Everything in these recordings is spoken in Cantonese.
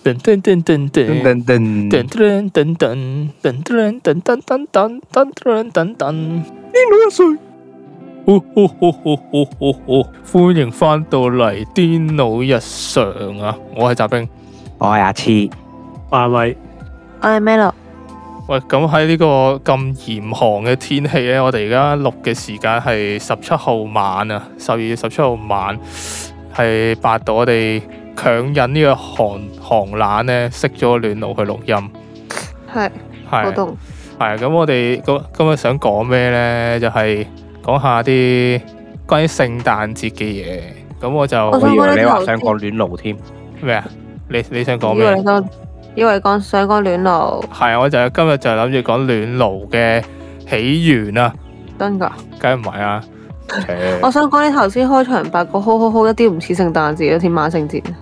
噔噔噔噔噔噔噔噔噔噔噔噔噔噔噔噔噔噔噔，癲佬一歲。歡迎翻到嚟癲佬日常啊！我係澤兵， 我係阿黐， 我係咪？ 我係 Melo。 喂，咁喺呢個咁嚴寒嘅天氣咧，我哋而家錄嘅時間係17號晚啊，12月17號晚係8度，我哋強忍呢個寒冷咧，熄咗暖爐去錄音。 係好凍。 係咁，我哋今日想講咩咧？就係講下啲關於聖誕節嘅嘢。咁我以為你話想講暖爐添。 咩啊？你想講咩？ 以為想講暖爐。係啊，我今日就諗住講暖爐嘅起源啊。 真㗎？ 梗唔係啊！ 我想講你頭先開場白個好一啲唔似聖誕節，似萬聖節。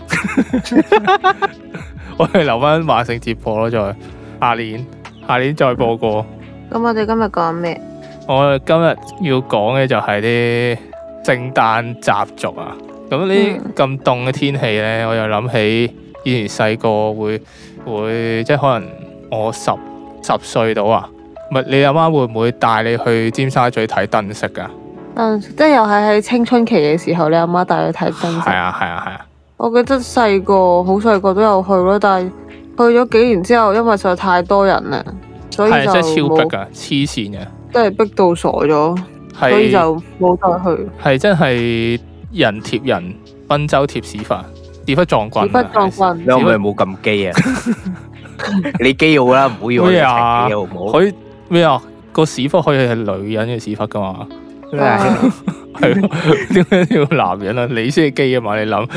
我哋留翻萬聖節播咯，再下年再播過。 咁我哋今日講咩？ 我今日要講嘅就係啲聖誕習俗啊。咁呢咁凍嘅天氣咧，我又諗起以前細個會即係可能我十歲到啊。唔係，你阿媽會唔會帶你去尖沙咀睇燈飾噶？ 即係又係喺青春期嘅時候，你阿媽帶你睇燈飾。係啊。 我記得好細個都有去咯，但係去咗幾年之後，因為實在太多人啦，所以就真係超逼噶，黐線嘅， 真係逼到傻咗，所以就冇再去。 係真係人貼人，賓州貼屎忽撞棍。 屎忽撞棍， 你可唔可以冇咁基啊？你基好啦，唔好要我一齊基好唔好？ 可以咩啊？個屎忽可以係女人嘅屎忽噶嘛？係咯，點解要男人啊？你先係基啊嘛？你諗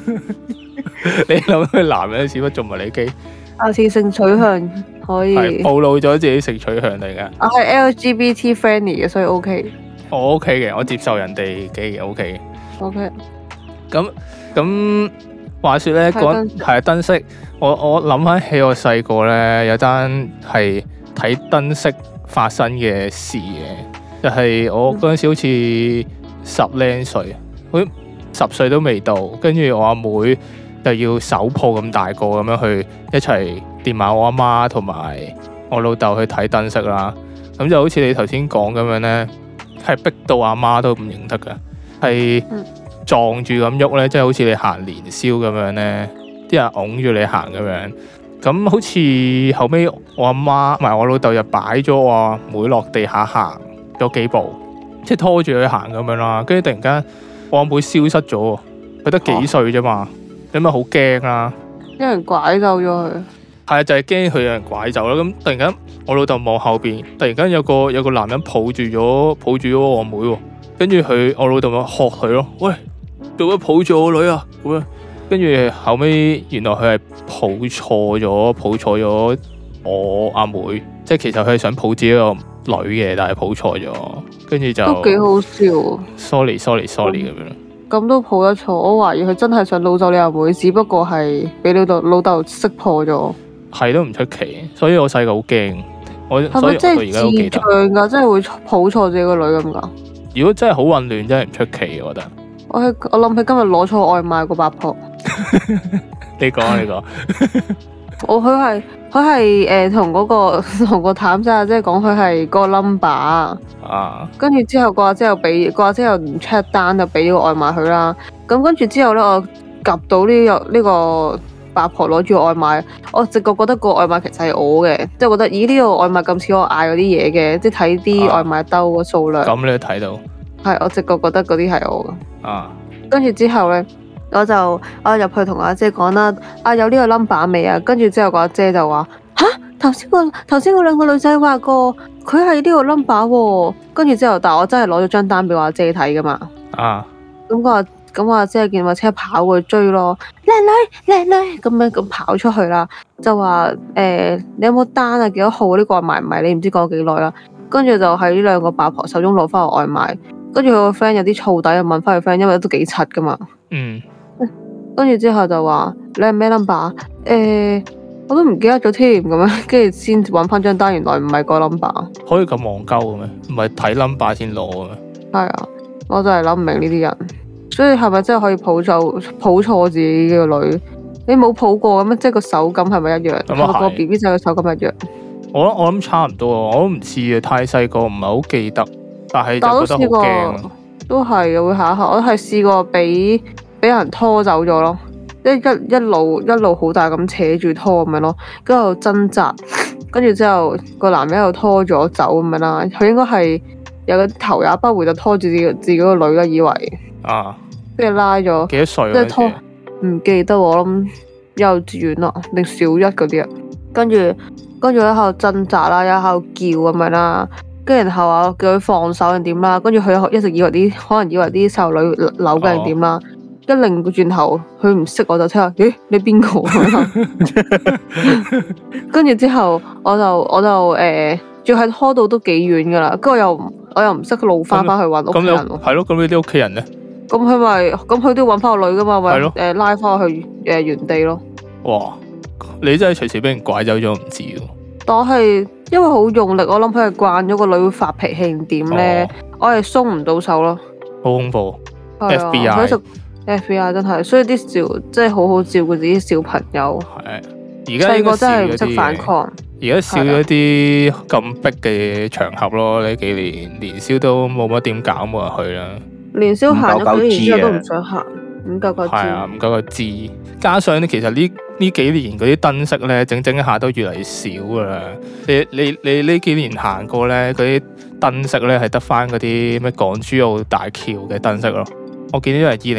佢男人嘅屎忽仲唔係你基？ 下次性取向可以係暴露咗自己性取向嚟噶。 我係 LGBT friendly 嘅，所以 OK。 我 OK 嘅，我接受人哋基嘅 OK。 OK。 咁話說咧，講係燈飾，我諗翻起我細個咧有單係睇燈飾發生嘅事嘅，就係我嗰陣時好似10零歲，好似10歲都未到，跟住我阿妹就要手抱咁大個咁樣去一齊掂埋我阿媽同埋我老豆去睇燈飾啦。咁就好似你頭先講咁樣咧，係逼到阿媽都唔認得噶，係撞住咁喐咧，即係好似你行年宵咁樣咧，啲人擁住你行咁樣。咁好似後尾我阿媽同埋我老豆就擺咗我阿妹落地下行咗幾步，即係拖住佢行咁樣啦。跟住突然間我阿妹消失咗，佢得幾歲啫嘛，你咪好驚啦！ 有人拐走咗佢。係啊，就係驚佢有人拐走啦。咁突然間我老豆望後邊，突然間有個男人抱住咗我阿妹喎。跟住我老豆咪喝佢咯，喂，做乜抱住我女啊？咁樣。跟住後尾原來佢係抱錯咗我阿妹，即係其實佢係想抱自己個女嘅，但係抱錯咗，跟住就都幾好笑。 sorry 咁樣。 咁都抱得錯，我懷疑佢真係想擄走你阿妹，只不過係俾老豆識破咗。係都唔出奇，所以我細個好驚。 係咪真係智障㗎？真係會抱錯自己個女咁㗎？ 如果真係好混亂，真係唔出奇，我覺得。 我諗起今日攞錯外賣個八婆。 你講。 佢係同個譚仔即係講佢係個 number 啊。跟住之後個阿姐又唔 check 單就俾咗個外賣佢啦。咁跟住之後咧，我及到呢個八婆攞住個外賣，我直覺覺得個外賣其實係我嘅，即係覺得咦呢個外賣咁似我嗌嗰啲嘢嘅，即係睇啲外賣兜個數量。咁你都睇到？ 係，我直覺覺得嗰啲係我嘅。跟住之後咧，我入去同阿姐講啦，有呢個 number 未啊？跟住之後個阿姐就話吓，頭先嗰兩個女仔話過佢係呢個 number 喎。跟住之後，但係我真係攞咗張單俾我阿姐睇噶嘛。咁我阿姐見我車跑過去追咯，靚女咁樣咁跑出去啦，就話你有冇單啊？幾多號呢個外賣唔係你唔知講幾耐啦。跟住就喺呢兩個八婆手中攞翻個外賣。跟住佢個 friend 有啲燥底，又問翻佢 friend，因為都幾柒噶嘛。跟住之後就話你係咩 number？我都唔記得咗添咁樣，跟住先揾翻張單，原來唔係個 number。 可以咁戇鳩嘅咩？唔係睇 number 先攞嘅咩？ 係啊，我就係諗唔明呢啲人。所以係咪真係可以抱錯自己嘅女？ 你冇抱過咁樣，即係個手感係咪一樣？ 咁啊係。 個 BB 仔嘅手感一樣。 我諗差唔多，我都唔知啊，太細個唔係好記得，但係就覺得好驚。 都係嘅，會嚇一嚇。我係試過俾人拖走咗咯，一路好大咁扯住拖咁樣咯，跟住掙扎，跟住之後個男人又拖咗走咁樣啦。佢應該係有個頭也不回就拖住自己個女啦，以為啊， 跟住拉咗幾多歲？ 即係拖唔記得，我諗幼稚園啦定小一嗰啲啊。跟住喺度掙扎啦，喺度叫咁樣啦。跟住然後啊，叫佢放手定點啦，跟住佢一直以為可能以為啲細路女扭嘅定點啦，一擰個轉頭，佢唔識我就聽下，咦你邊個？跟住之後我就仲係拖到都幾遠噶啦，跟住我又唔識路翻去揾屋企人喎。 係咯，咁你啲屋企人咧？ 咁佢都要揾翻個女噶嘛，咪拉翻去原地咯。 哇！你真係隨時俾人拐走咗唔知喎。 但我係因為好用力，我諗佢係慣咗個女會發脾氣點咧，我係鬆唔到手咯。 好恐怖。 FBI 真係，所以啲真係好好照顧自己小朋友。 係，而家細個真係唔識反抗。 而家少咗啲咁逼嘅場合咯，呢幾年宵都冇乜點搞，冇人去啦。 年宵行咗幾年之後都唔想行，唔夠個知。 係啊，唔夠個知。加上咧，其實呢幾年嗰啲燈飾咧，整下都越嚟越少噶啦。你呢幾年行過咧，嗰啲燈飾咧係得翻嗰啲咩港珠澳大橋嘅燈飾咯。我見到係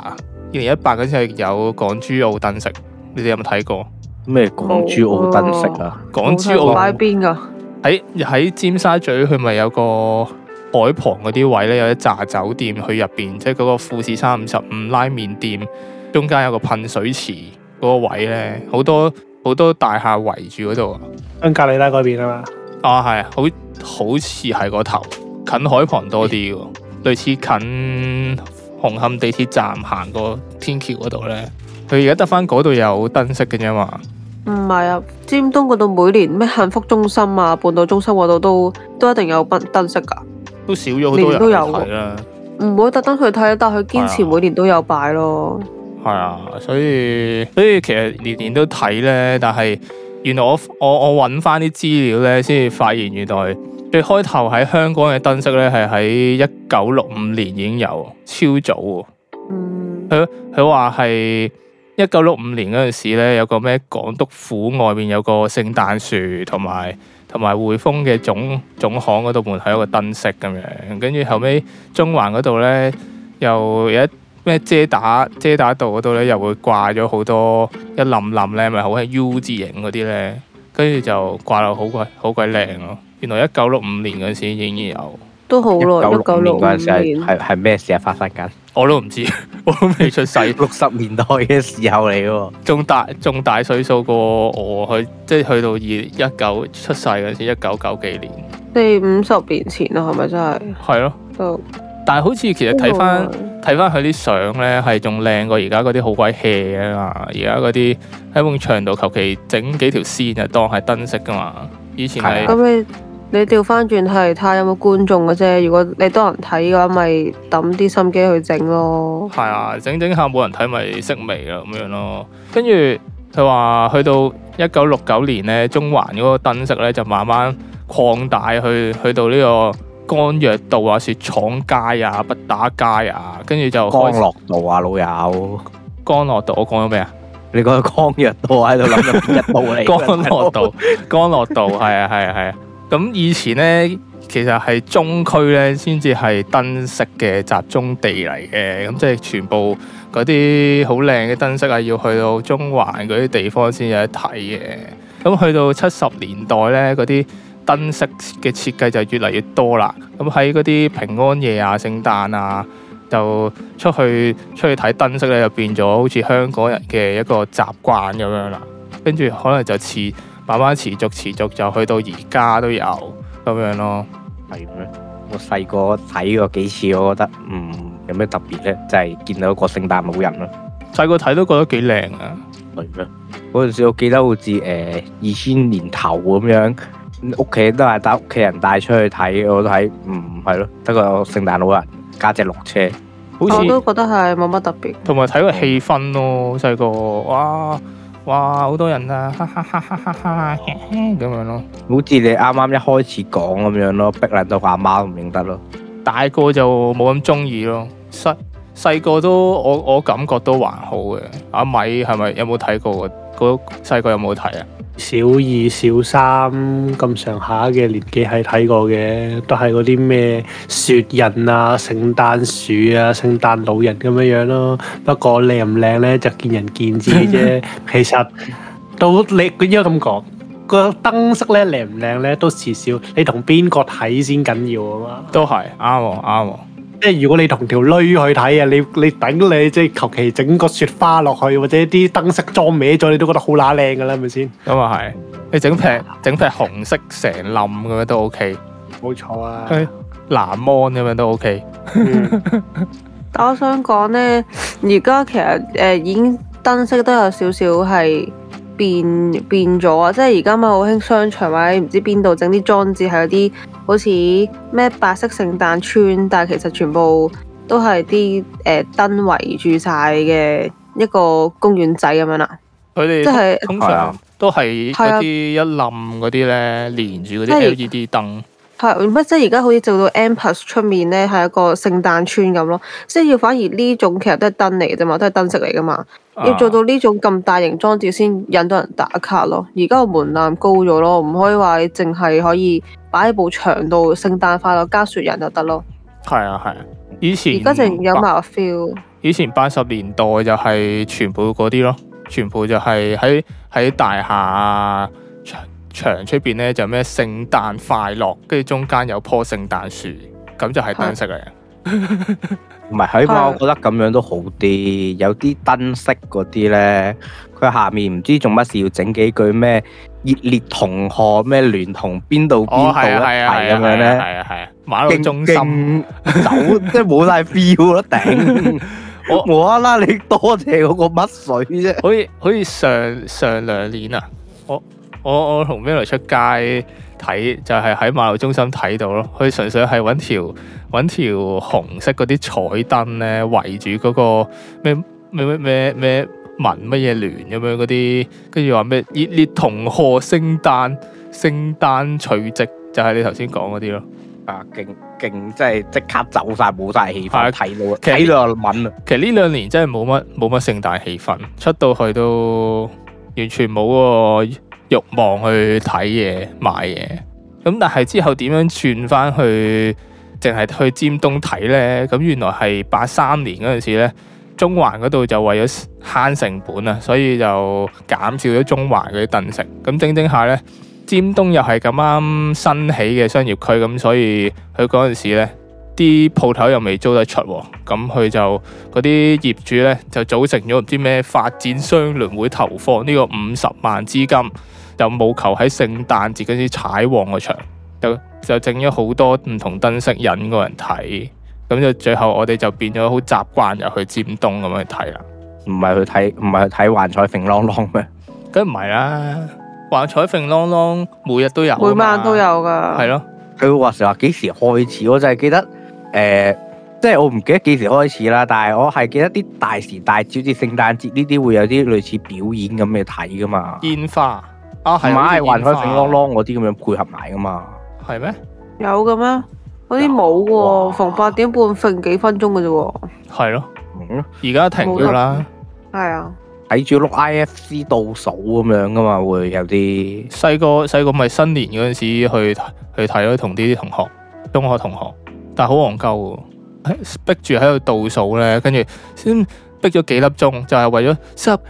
2018嗰陣係有港珠澳燈飾，你哋有冇睇過？ 咩港珠澳燈飾啊？ 港珠澳擺邊噶？ 喺尖沙咀，佢咪有個海旁嗰啲位咧，有一紮酒店去入邊，即係嗰個富士山55拉麵店中間有個噴水池嗰個位咧，好多大廈圍住嗰度啊。 香格里拉嗰邊啊嘛。 啊係，好似係個頭近海旁多啲喎，類似近紅磡地鐵站行過天橋嗰度咧，佢而家得翻嗰度有燈飾嘅啫嘛。 唔係啊，尖東嗰度每年咩幸福中心啊、半島中心嗰度都一定有燈飾噶， 都少咗好多人去睇啦。 唔會特登去睇，但係佢堅持每年都有擺咯。 係啊，所以其實年年都睇咧，但係原來我揾翻啲資料咧，先至發現原來最開頭喺香港嘅燈飾咧係喺1965年已經有，超早喎。佢話係1965年嗰陣時咧，有個咩港督府外面有個聖誕樹，同埋匯豐嘅總行嗰度門口有個燈飾咁樣，跟住後尾中環嗰度咧又有一咩遮打道嗰度咧又會掛咗好多一冧咧，咪好係 U 字形嗰啲咧，跟住就掛到好鬼靚咯。原來1965年嗰陣時已經有， 都好耐。 1965年嗰陣時係咩事啊發生緊？ 我都唔知，我都未出世。 60年代嘅時候嚟喎， 仲大歲數過我，即係去到19出世嗰時，1990幾年 ，40-50年前啦，係咪真係？ 係咯， 都。 但係好似其實睇翻佢啲相咧，係仲靚過而家嗰啲好鬼 hea 啊嘛！而家嗰啲喺埲牆度求其整幾條線就當係燈飾噶嘛。以前係咁你調翻轉係睇下有冇觀眾嘅啫。如果你多人睇嘅話，咪抌啲心機去整咯。 係啊，整下冇人睇咪熄微啦咁樣咯。跟住佢話去到1969年咧，中環嗰個燈飾咧就慢慢擴大去到呢個干藥道啊、雪廠街啊、畢打街啊，跟住就干諾道啊，老友。 干諾道，我講咗咩啊？ 你講干藥道喺度諗緊邊一道嚟？ 干諾道係啊。咁以前咧，其實係中區咧先至係燈飾嘅集中地嚟嘅，咁即係全部嗰啲好靚嘅燈飾啊，要去到中環嗰啲地方先有得睇嘅。咁去到70年代咧，嗰啲燈飾嘅設計就越嚟越多啦。咁喺嗰啲平安夜啊、聖誕啊，就出去睇燈飾咧，就變咗好似香港人嘅一個習慣咁樣啦。跟住可能就慢慢持續就去到而家都有咁樣咯。 係咩？我細個睇過幾次，我覺得有咩特別咧？就係見到個聖誕老人咯。 細個睇都覺得幾靚啊。 係咩？嗰陣時我記得好似2000年頭咁樣，屋企都係帶屋企人帶出去睇，我都睇係咯，得個聖誕老人加隻綠車。 好似我都覺得係冇乜特別。 同埋睇個氣氛咯，細個哇好多人啊，哈哈哈哈哈哈咁樣咯。 好似你啱啱一開始講咁樣咯，逼撚到阿媽都唔認得咯。 大個就冇咁中意咯，細個都我感覺都還好嘅。阿米係咪有冇睇過？嗰細個有冇睇啊？ 小二、小三咁上下嘅年紀係睇過嘅，都係嗰啲咩雪人啊、聖誕樹啊、聖誕老人咁樣咯。不過靚唔靚咧就見仁見智啫。其實都你應該咁講，個燈飾咧靚唔靚咧都時少，你同邊個睇先緊要啊嘛。 都係啱。 即係如果你同條女去睇啊，你頂你即係求其整個雪花落去，或者啲燈飾裝歪咗，你都覺得好乸靚噶啦，係咪先？ 咁啊係，你整劈紅色成冧咁樣都 OK， 冇錯啊。 藍芒咁樣都 OK。 但我想講呢，而家其實已經燈飾都有少少係變咗啊！即係而家咪好興商場或者唔知邊度整啲裝置係有啲好似咩白色聖誕村，但係其實全部都係啲燈圍住晒嘅一個公園仔咁樣啦。 佢哋即係通常都係嗰啲一冧嗰啲咧，連住嗰啲 LED 燈。 係乜？即係而家好似做到 M+ 出面咧，係一個聖誕村咁咯。即係要反而呢種其實都係燈嚟嘅啫嘛，都係燈飾嚟噶嘛。要做到呢種咁大型裝置先引到人打卡咯。而家個門檻高咗咯，唔可以話你淨係可以擺喺部牆度聖誕快樂加雪人就得咯。 係啊，以前而家淨有埋 feel。 以前80年代就係全部嗰啲咯，全部就係喺大廈牆出邊咧就咩聖誕快樂，跟住中間有棵聖誕樹，咁就係燈飾嚟嘅。 唔係，起碼我覺得咁樣都好啲。有啲燈飾嗰啲咧，佢下面唔知做乜事要整幾句咩熱烈同賀咩聯同邊度邊度一齊咁樣咧。 係啊，馬路中心走即係冇晒 feel 咯，頂！我無啦啦，你多謝嗰個乜水啫？ 好似上2年啊，我同 Milo 出街睇，就係喺馬路中心睇到咯。佢純粹係揾條紅色嗰啲彩燈咧，圍住嗰個咩文乜嘢聯咁樣嗰啲，跟住話咩熱烈同賀聖誕除夕，就係你頭先講嗰啲咯。 啊，勁，即係即刻走晒，冇晒氣氛，睇到其實睇到就悶啦。 其實呢2年真係冇乜聖誕氣氛，出到去都完全冇個慾望去睇嘢買嘢。咁但係之後點樣轉翻去淨係去尖東睇呢？咁原來係83年嗰陣時呢，中環嗰度就為咗慳成本啊，所以就減少咗中環嗰啲燈飾。咁整下呢，尖東又係咁啱新起嘅商業區，咁所以佢嗰陣時呢啲鋪頭又未租得出，咁佢就嗰啲業主呢，就組成咗唔知咩發展商聯會，投放呢個50萬資金，就務求喺聖誕節嗰時踩旺個場，就整咗好多唔同燈飾引個人睇，咁就最後我哋就變咗好習慣入去尖東咁樣去睇啦。 唔係去睇幻彩揈啷啷咩？ 梗唔係啦，幻彩揈啷啷每日都有， 每晚都有噶。 係咯， 佢話幾時開始？我就係記得即係我唔記得幾時開始啦，但係我係記得啲大時大節，好似聖誕節呢啲會有啲類似表演咁嘅睇噶嘛。 煙花啊，係咪幻彩揈啷啷嗰啲咁樣配合埋噶嘛？ 係咩？ 有嘅咩？嗰啲冇喎，逢8點半揈幾分鐘嘅啫喎。 係咯，而家停咗啦。 係啊， 睇住碌 IFC 倒數咁樣噶嘛，會有啲細個咪新年嗰陣時去睇咯，同啲中學同學，但係好戇鳩喎，逼住喺度倒數咧，跟住先逼咗幾粒鐘，就係為咗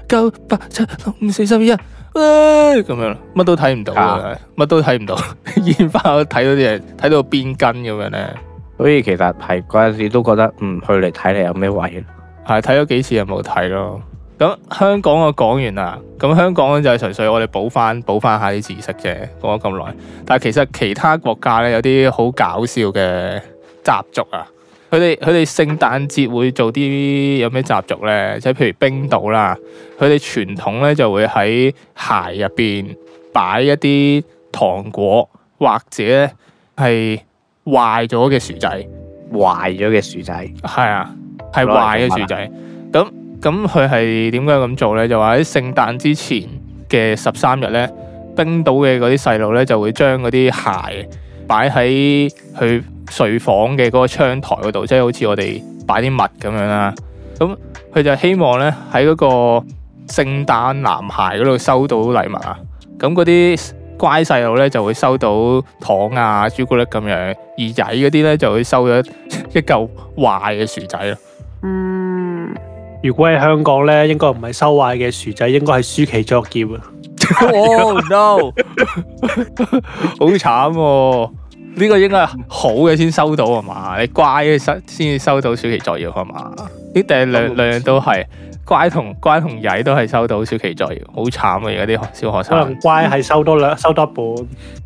10、9、8、7、6、5、4、3、2、1。咁樣乜都睇唔到嘅，乜都睇唔到，煙花我睇到啲嘢，睇到邊根咁樣咧。 所以其實係嗰陣時都覺得去嚟睇嚟有咩位？ 係睇咗幾次就冇睇咯。咁香港我講完啦，咁香港就係純粹我哋補翻下啲知識啫，講咗咁耐。但係其實其他國家咧有啲好搞笑嘅習俗啊。佢哋聖誕節會做啲有咩習俗咧？即係譬如冰島啦，佢哋傳統咧就會喺鞋入邊擺一啲糖果，或者係壞咗嘅薯仔。 壞咗嘅薯仔。 係啊， 係壞嘅薯仔。咁佢係點解咁做咧？就話喺聖誕之前嘅13日咧，冰島嘅嗰啲細路咧就會將嗰啲鞋擺喺佢睡房嘅嗰個窗台嗰度，即係好似我哋擺啲襪咁樣啦。咁佢就希望咧喺嗰個聖誕男孩嗰度收到禮物啊。咁嗰啲乖細路咧就會收到糖啊、朱古力咁樣，而曳嗰啲咧就會收咗一嚿壞嘅薯仔咯。 如果喺香港咧，應該唔係收壞嘅薯仔，應該係暑期作業啊。 Oh no！ 好慘喎！呢個應該係好嘅先收到係嘛？你乖嘅先至收到暑期作業係嘛？呢定係兩樣都係乖同曳都係收到暑期作業，好慘啊！而家啲小學生可能乖係收多一半。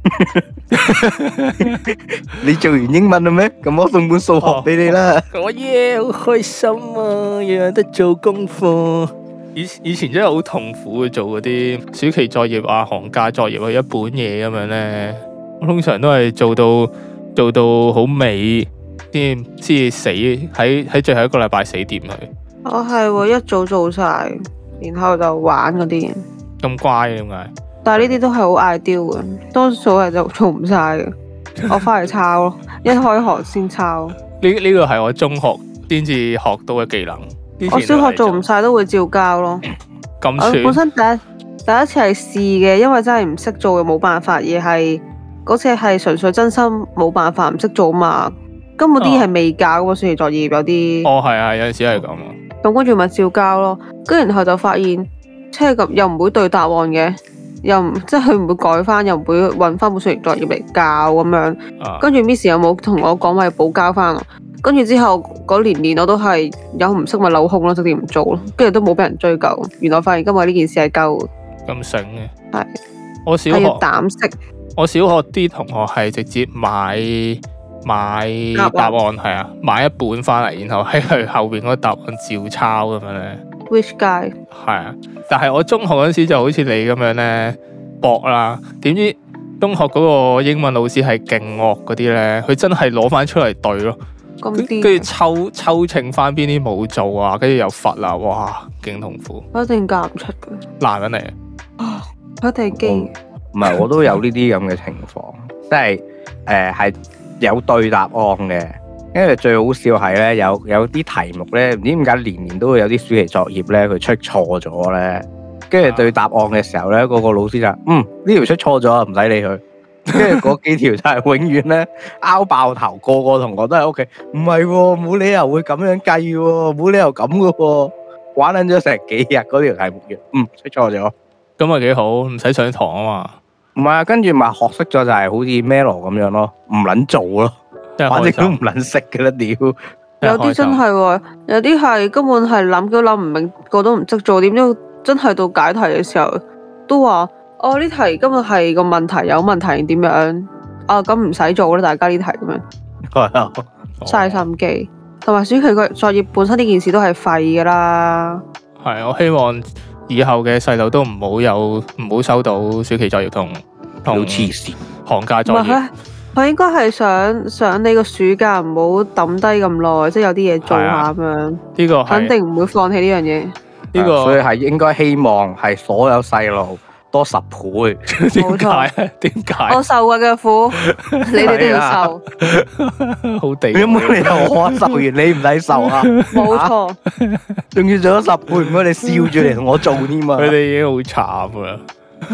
你做完英文啦咩？咁我送本數學俾你啦。 我耶，好開心啊！有得做功課。以前真係好痛苦做嗰啲暑期作業啊、寒假作業啊，一本嘢咁樣咧。我通常都係做到好尾先至死，喺最後一個禮拜死掂佢。 我係一早做晒，然後就玩嗰啲。 咁乖點解？ 但係呢啲都係好嗌丟嘅，多數係就做唔晒嘅。我翻嚟抄咯，一開學先抄。 呢個係我中學先至學到嘅技能。 我小學做唔晒都會照交咯。 咁算？ 我本身第一次係試嘅，因為真係唔識做嘅冇辦法，而係嗰次係純粹真心冇辦法唔識做嘛。根本啲嘢係未教嘅暑期作業有啲。 哦，係啊，有陣時係咁啊。 咁跟住咪照交咯，跟住然後就發現即係咁又唔會對答案嘅，又唔即係佢唔會改翻，又唔會揾翻本暑期作業嚟教咁樣。跟住 Miss 又冇同我講話要補交翻。跟住之後嗰年我都係有唔識咪扭空咯，直接唔做咯，跟住都冇俾人追究。原來發現今日呢件事係鳩咁醒嘅。 係我小學要膽識。 我小學啲同學係直接買答案係啊，買一本翻嚟，然後喺佢後邊嗰個答案照抄咁樣咧。 Which guy？ 係啊，但係我中學嗰時就好似你咁樣咧搏啦，點知中學嗰個英文老師係勁惡嗰啲咧，佢真係攞翻出嚟對咯。跟住抽稱翻邊啲冇做啊，跟住又罰啦，哇，勁痛苦。 我一定教唔出嘅。 男人嚟啊！我一定係基。 唔係，我都有呢啲咁嘅情況，即係係有對答案嘅。因為最好笑係咧，有啲題目咧，唔知點解年都會有啲暑期作業咧，佢出錯咗咧，跟住對答案嘅時候咧，嗰個老師就呢條出錯咗，唔使理佢。跟住嗰幾條就係永遠咧拗爆頭，個個同學都喺屋企，唔係喎，冇理由會咁樣計喎，冇理由咁嘅喎，玩撚咗成幾日嗰條題目嘅，出錯咗， 咁咪幾好，唔使上堂啊嘛。 唔係啊，跟住咪學識咗就係好似 Melo 咁樣咯，唔撚做咯，反正都唔撚識嘅啦，屌！ 有啲真係喎，有啲係根本係諗都諗唔明，個都唔識做，點知真係到解題嘅時候都話。呢題今日係個問題有問題點樣？咁唔使做啦，大家呢題咁樣。 係啊， 嘥心機，同埋暑期作業本身呢件事都係廢噶啦。 係，我希望以後嘅細路都唔好收到暑期作業同黐線寒假作業。 佢應該係想你個暑假唔好抌低咁耐，即係有啲嘢做下咁樣。 呢個肯定唔會放棄呢樣嘢。 呢個所以係應該希望係所有細路多10倍。 點解？點解？ 我受過嘅苦，你哋都要受。 好地。 有冇理由我受完你唔使受啊？ 冇錯。 仲要做咗10倍，唔該你笑住嚟同我做添啊！ 佢哋已經好慘啦。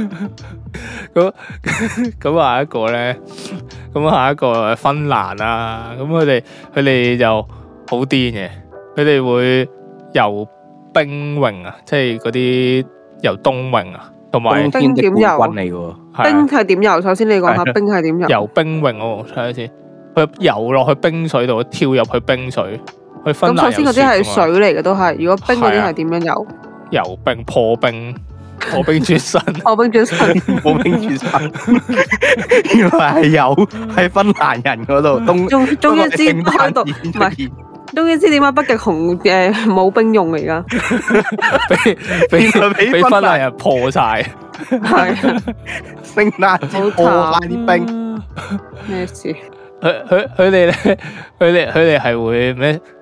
咁下一個咧，咁下一個芬蘭啦。咁佢哋就好癲嘅，佢哋會游冰泳啊，即係嗰啲游冬泳啊。同埋冰點游嚟嘅， 冰係點游？首先你講下冰係點游？ 游冰泳我睇下先，佢游落去冰水度，跳入去冰水。去芬蘭。 咁首先嗰啲係水嚟嘅都係，如果冰嗰啲係點樣游？ 游冰破冰轉身， 破冰轉身， 破冰轉身。原來係有喺芬蘭人嗰度， 終於知喺度，唔係。終於知點解北極熊冇冰用嚟噶， 俾芬蘭人破晒， 係聖誕節破晒啲冰， 咩事？ 佢哋咧，佢哋係會咩？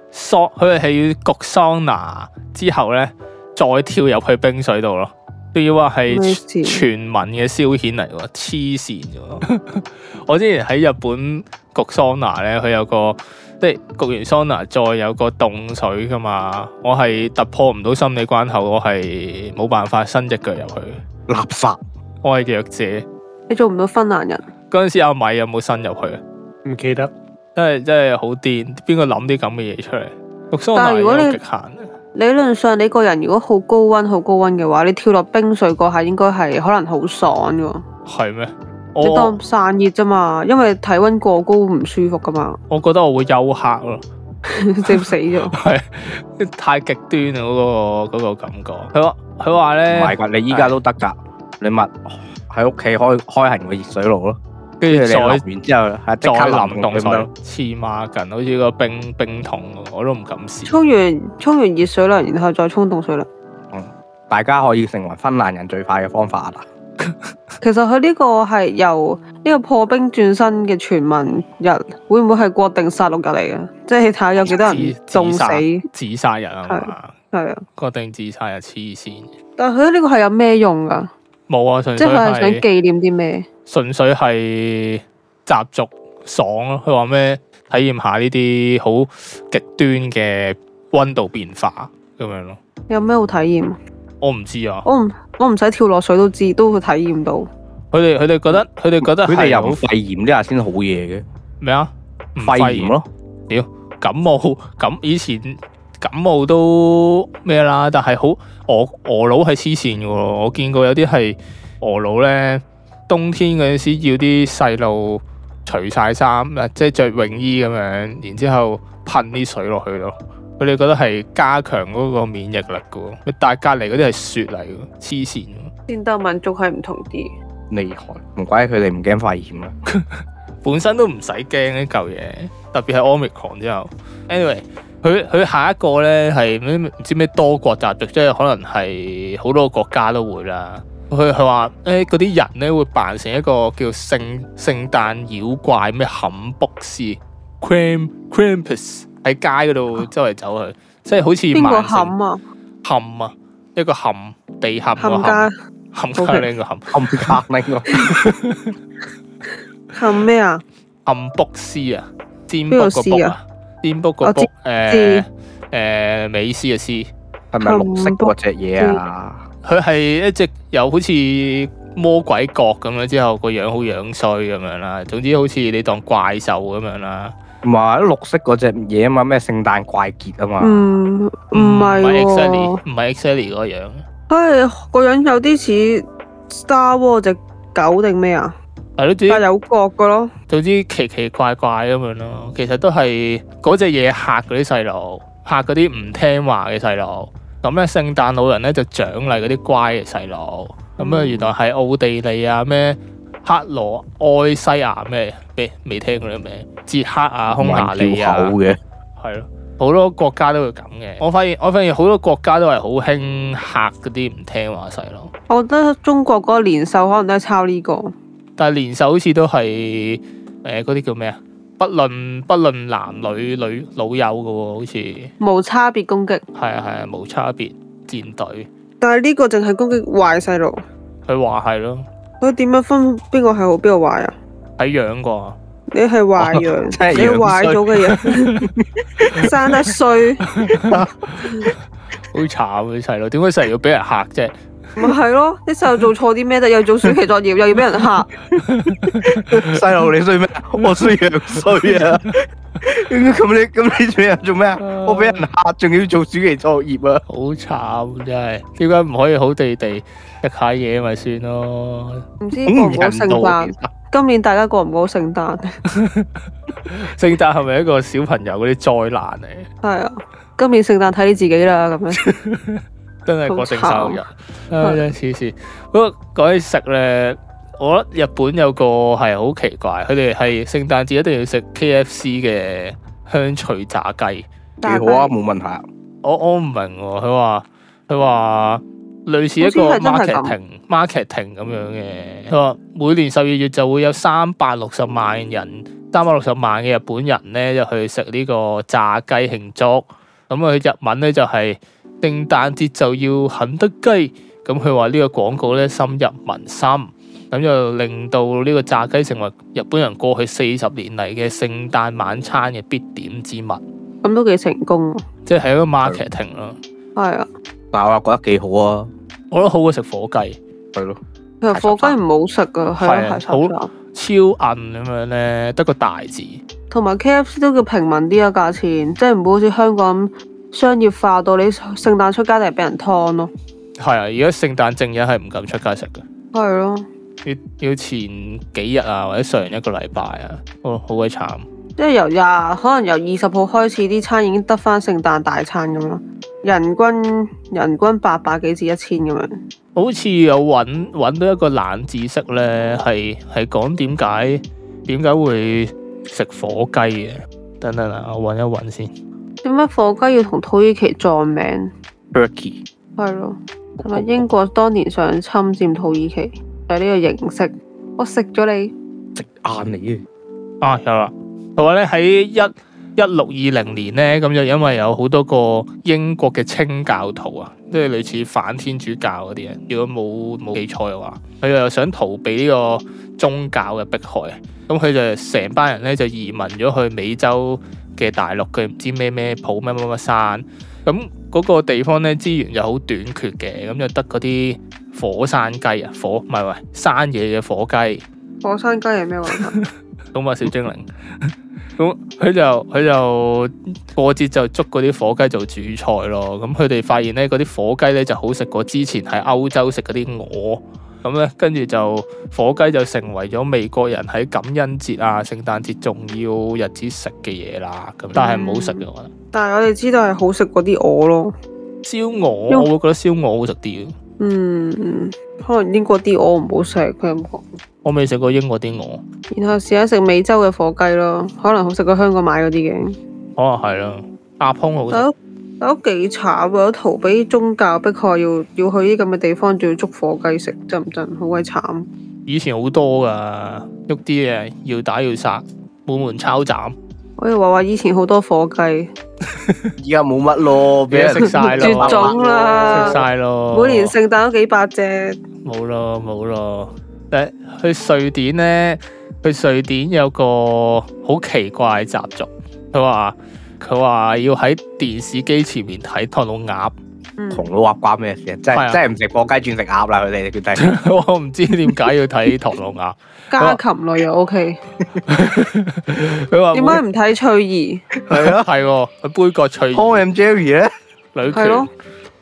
佢係要焗桑拿之後咧，再跳入去冰水度咯。仲要話係全民嘅消遣嚟喎，黐線嘅。我之前喺日本焗桑拿咧，佢有個即係焗完桑拿再有個凍水噶嘛。我係突破唔到心理關口，我係冇辦法伸隻腳入去。 垃圾！ 我係弱者。 你做唔到芬蘭人。 嗰陣時阿米有冇伸入去啊？ 唔記得。 真係好癲！邊個諗啲咁嘅嘢出嚟？焗桑拿有極限。 理論上你個人如果好高溫嘅話，你跳落冰水嗰下應該係可能好爽嘅。 係咩？ 你當散熱啫嘛，因為體溫過高唔舒服噶嘛。 我覺得我會休克咯， 直死咗。 係太極端啦，嗰個感覺。佢話咧， 唔係㗎，你依家都得㗎，你咪喺屋企開行個熱水爐咯。 跟住再完之後， 再淋凍水，黐孖筋，好似個冰桶，我都唔敢試。 沖完熱水涼，然後再沖凍水涼。 大家可以成為芬蘭人最快嘅方法啦。 其實佢呢個係由呢個破冰轉身嘅全民日，會唔會係國定殺戮日嚟嘅？即係睇下有幾多人凍死、 自殺日啊嘛。 係啊， 國定自殺日黐線。 但係佢呢個係有咩用㗎？ 冇啊，純粹即係想紀念啲咩？ 純粹係習俗爽咯。佢話咩？體驗下呢啲好極端嘅溫度變化咁樣咯。 有咩好體驗？ 我唔知啊。 我唔使跳落水都會體驗到。 佢哋覺得佢哋有肺炎呢下先好嘢嘅。 咩啊？ 肺炎咯。 屌感冒咁以前感冒都咩啦，但係好俄佬係黐線嘅喎。我見過有啲係俄佬咧，冬天嗰陣時要啲細路除晒衫，即係着泳衣咁樣，然之後噴啲水落去咯。佢哋覺得係加強嗰個免疫力嘅喎，但係隔離嗰啲係雪嚟嘅，黐線。 戰鬥民族係唔同啲， 厲害，唔怪佢哋唔驚肺炎啦。 本身都唔使驚呢嚿嘢，特別係 Omicron 之後。Anyway，佢下一個咧係唔知咩多國習俗，即係可能係好多個國家都會啦。佢話嗰啲人咧會扮成一個叫聖誕妖怪咩坎卜斯 Krampus 喺街嗰度周圍走去，即係好似邊個坎啊？ 坎啊，一個坎地坎個坎加呢個坎加呢個坎咩啊？ 坎卜斯啊，占卜個卜啊，占卜個卜美斯嘅斯， 係咪綠色嗰隻嘢啊？ 佢係一隻有好似魔鬼角咁樣，之後個樣好樣衰咁樣啦。總之好似你當怪獸咁樣啦。 唔係綠色嗰隻嘢啊嘛，咩聖誕怪傑啊嘛。 唔係喎， 唔係 exactly 嗰個樣。 係個樣有啲似 Star Wars 隻狗定咩啊？ 係咯， 但有角嘅咯。 總之奇奇怪怪咁樣咯。其實都係嗰隻嘢嚇嗰啲細路，嚇嗰啲唔聽話嘅細路。咁咧，聖誕老人咧就獎勵嗰啲乖嘅細路。咁啊，原來係奧地利啊，咩克羅埃西亞咩未聽過啲名，捷克啊，匈牙利啊，係咯，好多國家都會咁嘅。我發現好多國家都係好興嚇嗰啲唔聽話細路。 我覺得中國嗰個年獸可能都係抄呢個， 但係年獸好似都係嗰啲叫咩啊？不論男女老幼嘅喎，好似無差別攻擊。係啊，無差別戰隊。 但係呢個淨係攻擊壞細路。 佢話係咯。 佢點樣分邊個係好邊個壞啊？ 睇樣啩。 你係壞樣，你壞咗嘅樣，生得衰。 好慘啊！啲細路點解成日要俾人嚇啫？ 咪係咯，啲細路做錯啲咩啫？又做暑期作業，又要俾人嚇。 細路你衰咩？我衰樣衰啊！咁你做咩啊？我俾人嚇，仲要做暑期作業啊！ 好慘真係，點解唔可以好地地食下嘢咪算咯？ 唔知過唔過聖誕？今年大家過唔過聖誕？ 聖誕係咪一個小朋友嗰啲災難嚟？ 係啊，今年聖誕睇你自己啦，咁樣。 真係國定生日，真係黐線。不過講起食咧，我覺得日本有個係好奇怪，佢哋係聖誕節一定要食 KFC 嘅香脆炸雞。 幾好啊，冇問題啊。 我唔明喎，佢話類似一個 marketing 咁樣嘅。佢話每年12月就會有360萬人 360萬嘅日本人咧就去食呢個炸雞慶祝。咁佢日文咧就係聖誕節就要肯德雞。咁佢話呢個廣告咧深入民心，咁就令到呢個炸雞成為日本人過去40年嚟嘅聖誕晚餐嘅必點之物。 咁都幾成功， 即係一個 marketing 咯。 係啊， 但我又覺得幾好啊， 我覺得好過食火雞。 係咯， 其實火雞唔好食噶，係啊， 好超韌咁樣咧，得個大字。 同埋 KFC 都叫平民啲啊，價錢即係唔會好似香港咁商業化到你聖誕出街就係俾人劏咯。 係啊，而家聖誕正日係唔敢出街食嘅。 係咯， 要前幾日啊，或者上一個禮拜啊，好鬼慘。 即係可能由20號開始，啲餐已經得翻聖誕大餐咁咯，人均800幾至1000咁樣。 好似有揾到一個冷知識咧，係講點解會食火雞嘅。等等啊，我揾一揾先。 點解火雞要同土耳其撞名 Turkey 係咯，係咪英國當年想侵佔土耳其就係呢個形式？我食咗你， 食硬你嘅。 啊，有啦。佢話咧喺1620年咧，咁就因為有好多個英國嘅清教徒啊，即係類似反天主教嗰啲人，如果冇記錯嘅話，佢又想逃避呢個宗教嘅迫害，咁佢就成班人咧就移民咗去美洲嘅大陸嘅唔知咩埔乜山，咁嗰個地方咧資源就好短缺嘅，咁就得嗰啲火山雞啊，唔係山野嘅火雞。 火山雞係咩話？ 動物小精靈。咁佢就過節就捉嗰啲火雞做主菜咯。咁佢哋發現咧，嗰啲火雞咧就好食過之前喺歐洲食嗰啲鵝。咁咧跟住就火雞就成為咗美國人喺感恩節啊、聖誕節重要日子食嘅嘢啦。咁但係唔好食嘅，我覺得。 但係我哋知道係好食過啲鵝咯。 燒鵝我會覺得燒鵝好食啲。 可能英國啲鵝唔好食，佢咁講。 我未食過英國啲鵝。 然後試下食美洲嘅火雞咯，可能好食過香港買嗰啲嘅。 可能係啦，鴨胸好食。 都幾慘，為咗逃避宗教迫害，要去啲咁嘅地方，仲要捉火雞食，真唔真？好鬼慘。 以前好多噶，喐啲嘢要打要殺，滿門抄斬。 我以為話以前好多火雞， 而家冇乜咯，俾人食晒咯， 絕種啦， 食晒咯。 每年聖誕都幾百隻。 冇咯。去瑞典咧，去瑞典有個好奇怪嘅習俗，佢話要喺電視機前面睇唐老鴨。 唐老鴨關咩事啊？真係唔食火雞轉食鴨啦！佢哋決定。 我唔知點解要睇唐老鴨。 家禽類又 OK。 佢話點解唔睇翠兒？ 係啊， 係喎，佢杯葛翠兒。 Tom and Jerry 咧， 女權。 係咯。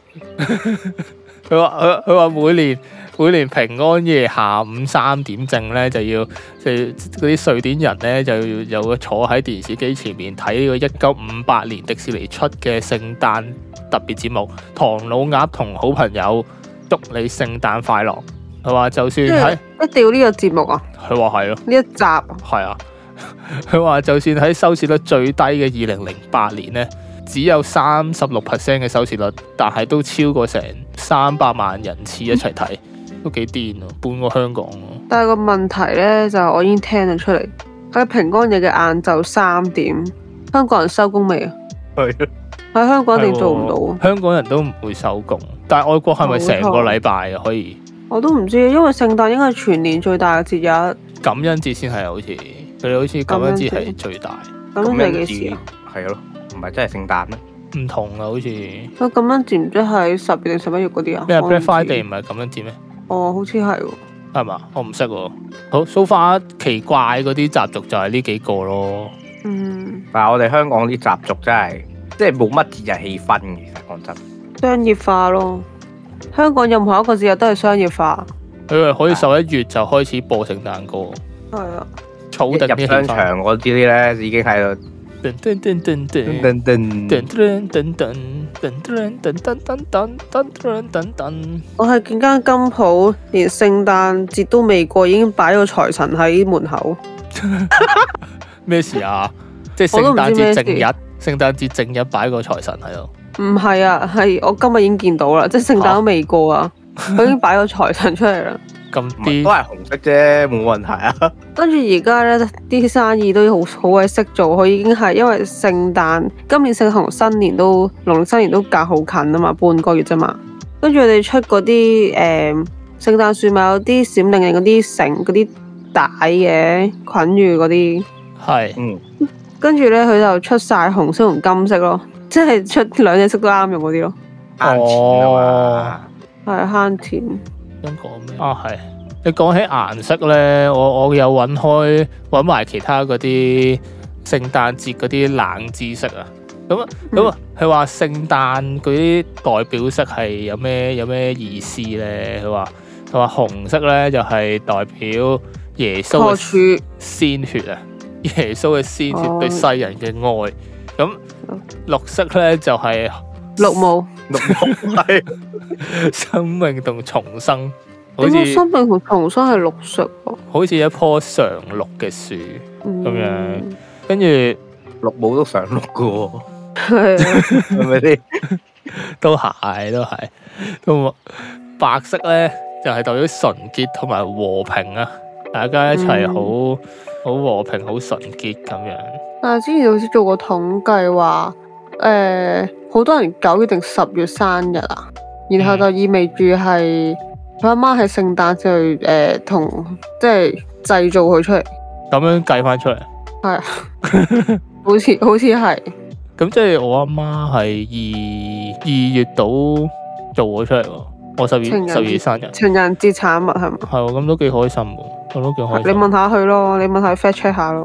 佢話每年平安夜下午3點正咧，就要嗰啲瑞典人咧就有個坐喺電視機前面睇呢個1958年迪士尼出嘅聖誕特別節目《唐老鴨同好朋友祝你聖誕快樂》。佢話就算喺一定要呢個節目啊！ 佢話係咯， 呢一集係啊。佢話就算喺收視率最低嘅2008年咧，只有36% 嘅收視率，但係都超過成300萬人次一齊睇。都幾癲啊，半個香港咯。 但係個問題咧，就我已經聽咗出嚟，喺平安夜嘅晏晝3點，香港人收工未啊？ 係啊， 喺香港一定做唔到啊！ 香港人都唔會收工，但係外國係咪成個禮拜啊？可以？ 我都唔知，因為聖誕應該係全年最大嘅節日。 感恩節先係好似，佢哋好似感恩節係最大。 感恩節幾時啊？ 係咯，唔係真係聖誕咩？ 唔同啊，好似。 佢感恩節唔知係10月定11月嗰啲啊？ 咩 Black Friday 唔係感恩節咩？ 哦，好似係喎。 係嘛？我唔識喎。好，so far奇怪嗰啲習俗就係呢幾個咯。 但係我哋香港啲習俗真係，即係冇乜節日氣氛嘅。其實講真， 商業化咯。香港任何一個節日都係商業化。 佢可以11月就開始播聖誕歌。 係啊。 儲定啲商場嗰啲咧，已經喺度。我係見間金鋪，連聖誕節都未過，已經擺個財神喺門口。 咩事啊？即係聖誕節正日，聖誕節正日擺個財神喺度。 唔係啊，係我今日已經見到啦，即係聖誕都未過啊，佢已經擺個財神出嚟啦。 咁啲都係紅色啫，冇問題啊。 跟住而家咧啲生意都好鬼識做，佢已經係因為聖誕今年聖誕同新年都農曆新年都隔好近啊嘛，半個月啫嘛。跟住佢哋出嗰啲聖誕樹咪有啲閃靈靈嗰啲繩嗰啲帶嘅捆住嗰啲， 係跟住咧佢就出晒紅色同金色咯，即係出兩隻色都啱用嗰啲咯。係慳錢。 想講咩啊？係你講起顏色咧，我有揾埋其他嗰啲聖誕節嗰啲冷知識啊。咁佢話聖誕嗰啲代表色係有咩意思咧？佢話紅色咧就係代表耶穌嘅鮮血啊，耶穌嘅鮮血對世人嘅愛。咁綠色咧就係綠帽係生命同重生。 點解生命同重生係綠色喎？ 好似一棵常綠嘅樹咁樣，跟住綠帽都常綠嘅喎。 係啊， 係咪先？ 都係。咁白色咧就係代表純潔同埋和平啊！大家一齊好和平、好純潔咁樣。 但係之前好似做過統計話，好多人9月定10月生日啊，然後就意味住係佢阿媽喺聖誕節同即係製造佢出嚟， 咁樣計翻出嚟。 係啊，好似係。 咁即係我阿媽係二月度做咗出嚟喎，我10月生日， 情人節產物係嘛？ 係喎，咁都幾開心喎，我都幾開心。 你問下佢咯，你問下 fact check 下咯。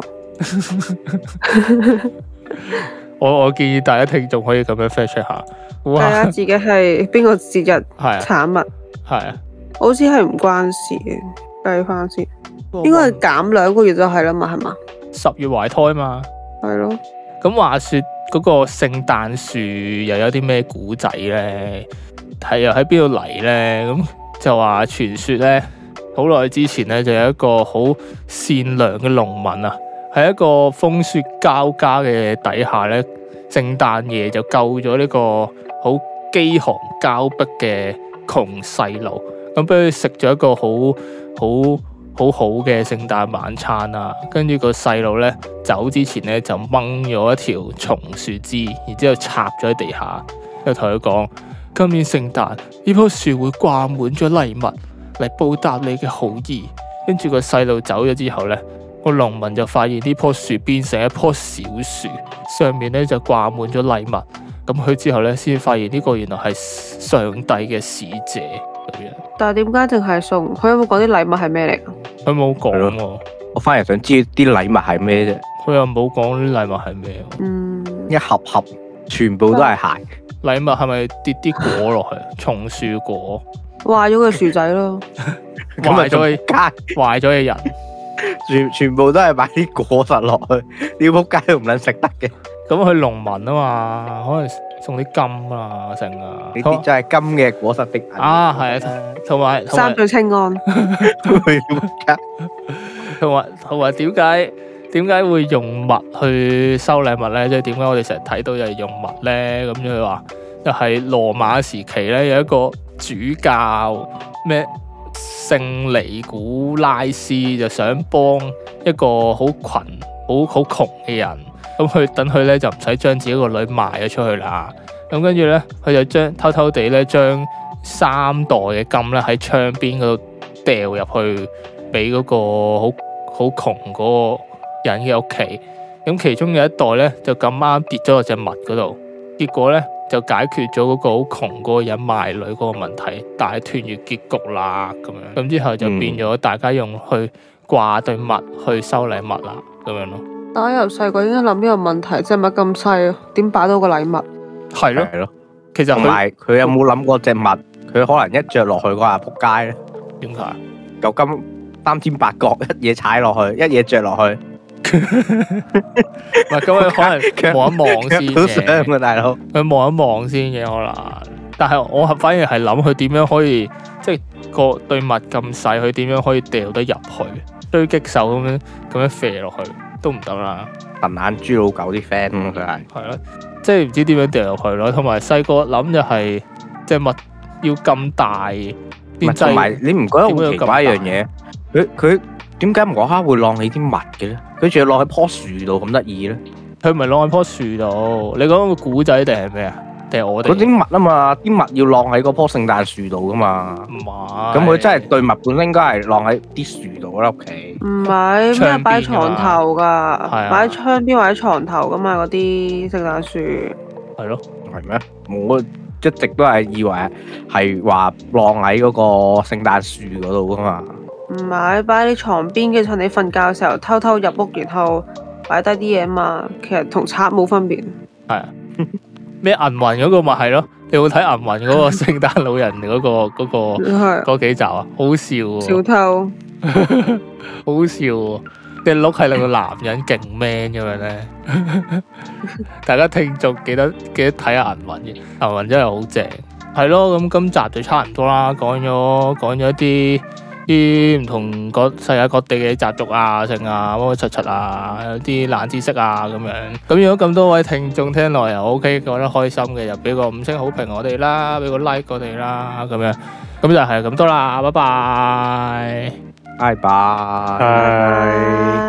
我建議大家聽眾可以咁樣 fact check 下， 睇下自己係邊個節日產物。 係啊， 好似係唔關事嘅，計翻先，應該係減2個月就係啦嘛，係嘛 ？10月懷胎嘛。係咯。 咁話說嗰個聖誕樹又有啲咩古仔咧？係又喺邊度嚟咧？咁就話傳說咧，好耐之前咧就有一個好善良嘅農民啊，喺一個風雪交加嘅底下咧，聖誕夜就救咗呢個好飢寒交迫嘅窮細路，咁俾佢食咗一個好嘅聖誕晚餐啊！跟住個細路咧走之前咧就掹咗一條松樹枝，然之後插咗喺地下，又同佢講：今年聖誕呢棵樹會掛滿咗禮物嚟報答你嘅好意。跟住個細路走咗之後咧，個農民就發現呢棵樹變成一棵小樹，上面咧就掛滿咗禮物。咁佢之後咧先發現呢個原來係上帝嘅使者咁樣。 但係點解淨係送？佢有冇講啲禮物係咩嚟？ 佢冇講喎。 我反而想知啲禮物係咩啫。 佢又冇講啲禮物係咩。 一盒全部都係鞋。 禮物係咪跌啲果落去？松樹果。 壞咗個樹仔咯。 壞咗嘅人。 全部都係擺啲果實落去，啲仆街都唔撚食得嘅。 咁佢農民啊嘛，可能送啲金啊成啊。 呢啲就係金嘅果實的啊，係啊，同埋三聚氰胺。 同埋點解會用襪去收禮物咧？即係點解我哋成日睇到又係用襪咧？咁佢話就係羅馬時期咧，有一個主教咩聖尼古拉斯就想幫一個好窮嘅人，咁佢等佢咧就唔使將自己個女賣咗出去啦。咁跟住咧，佢就偷偷地咧將3袋嘅金咧喺窗邊嗰度掉入去俾嗰個好窮嗰個人嘅屋企。咁其中有一袋咧就咁啱跌咗落隻襪嗰度，結果咧就解決咗嗰個好窮嗰個人賣女嗰個問題，大團圓結局啦咁樣。咁之後就變咗大家用去掛對襪去收禮物啦咁樣咯。 但我由細個已經諗呢個問題，隻襪咁細，點擺到個禮物？ 係咯，其實同埋佢有冇諗過隻襪？佢可能一着落去嗰下仆街咧？ 點解？ 嚿金三尖八角，一嘢踩落去，一嘢着落去。 唔係咁，佢可能望一望先嘅。都想啊，大佬。 佢望一望先嘅可能，但係我反而係諗佢點樣可以，即係個對襪咁細，佢點樣可以掉得入去？狙擊手咁樣射落去都唔得啦。 笨眼豬老狗啲 friend 佢係。 係咯，即係唔知點樣掉入去咯。同埋細個諗就係隻襪要咁大， 同埋你唔覺得好奇怪一樣嘢？佢點解無啦啦會晾起啲襪嘅咧？佢仲要晾喺樖樹度咁得意咧？ 佢唔係晾喺樖樹度，你講個古仔定係咩啊？定係我哋？ 嗰啲襪啊嘛，啲襪要晾喺嗰棵聖誕樹度噶嘛。唔係。咁佢真係對襪本身應該係晾喺啲樹度啦，屋企。唔係咩擺床頭㗎？擺喺窗邊或者床頭㗎嘛，嗰啲聖誕樹。 係咯。 係咩？我一直都係以為係話晾喺嗰個聖誕樹嗰度㗎嘛。 唔係擺喺你床邊嘅，趁你瞓覺嘅時候偷偷入屋，然後擺低啲嘢嘛。其實同賊冇分別。 係啊。咩銀魂嗰個咪係咯？你有冇睇銀魂嗰個聖誕老人嗰幾集啊？好笑喎！ 小偷。 好笑喎！隻鹿係兩個男人勁 man 咁樣咧。大家聽眾記得睇下銀魂嘅，銀魂真係好正。係咯，咁今集就差唔多啦，講咗一啲唔同世界各地嘅習俗啊、剩啊、乜乜柒柒啊，有啲冷知識啊咁樣。咁如果咁多位聽眾聽落又 OK，覺得開心嘅，就俾個5星好評我哋啦，俾個 like 我哋啦，咁樣。咁就係咁多啦，拜拜， 拜拜。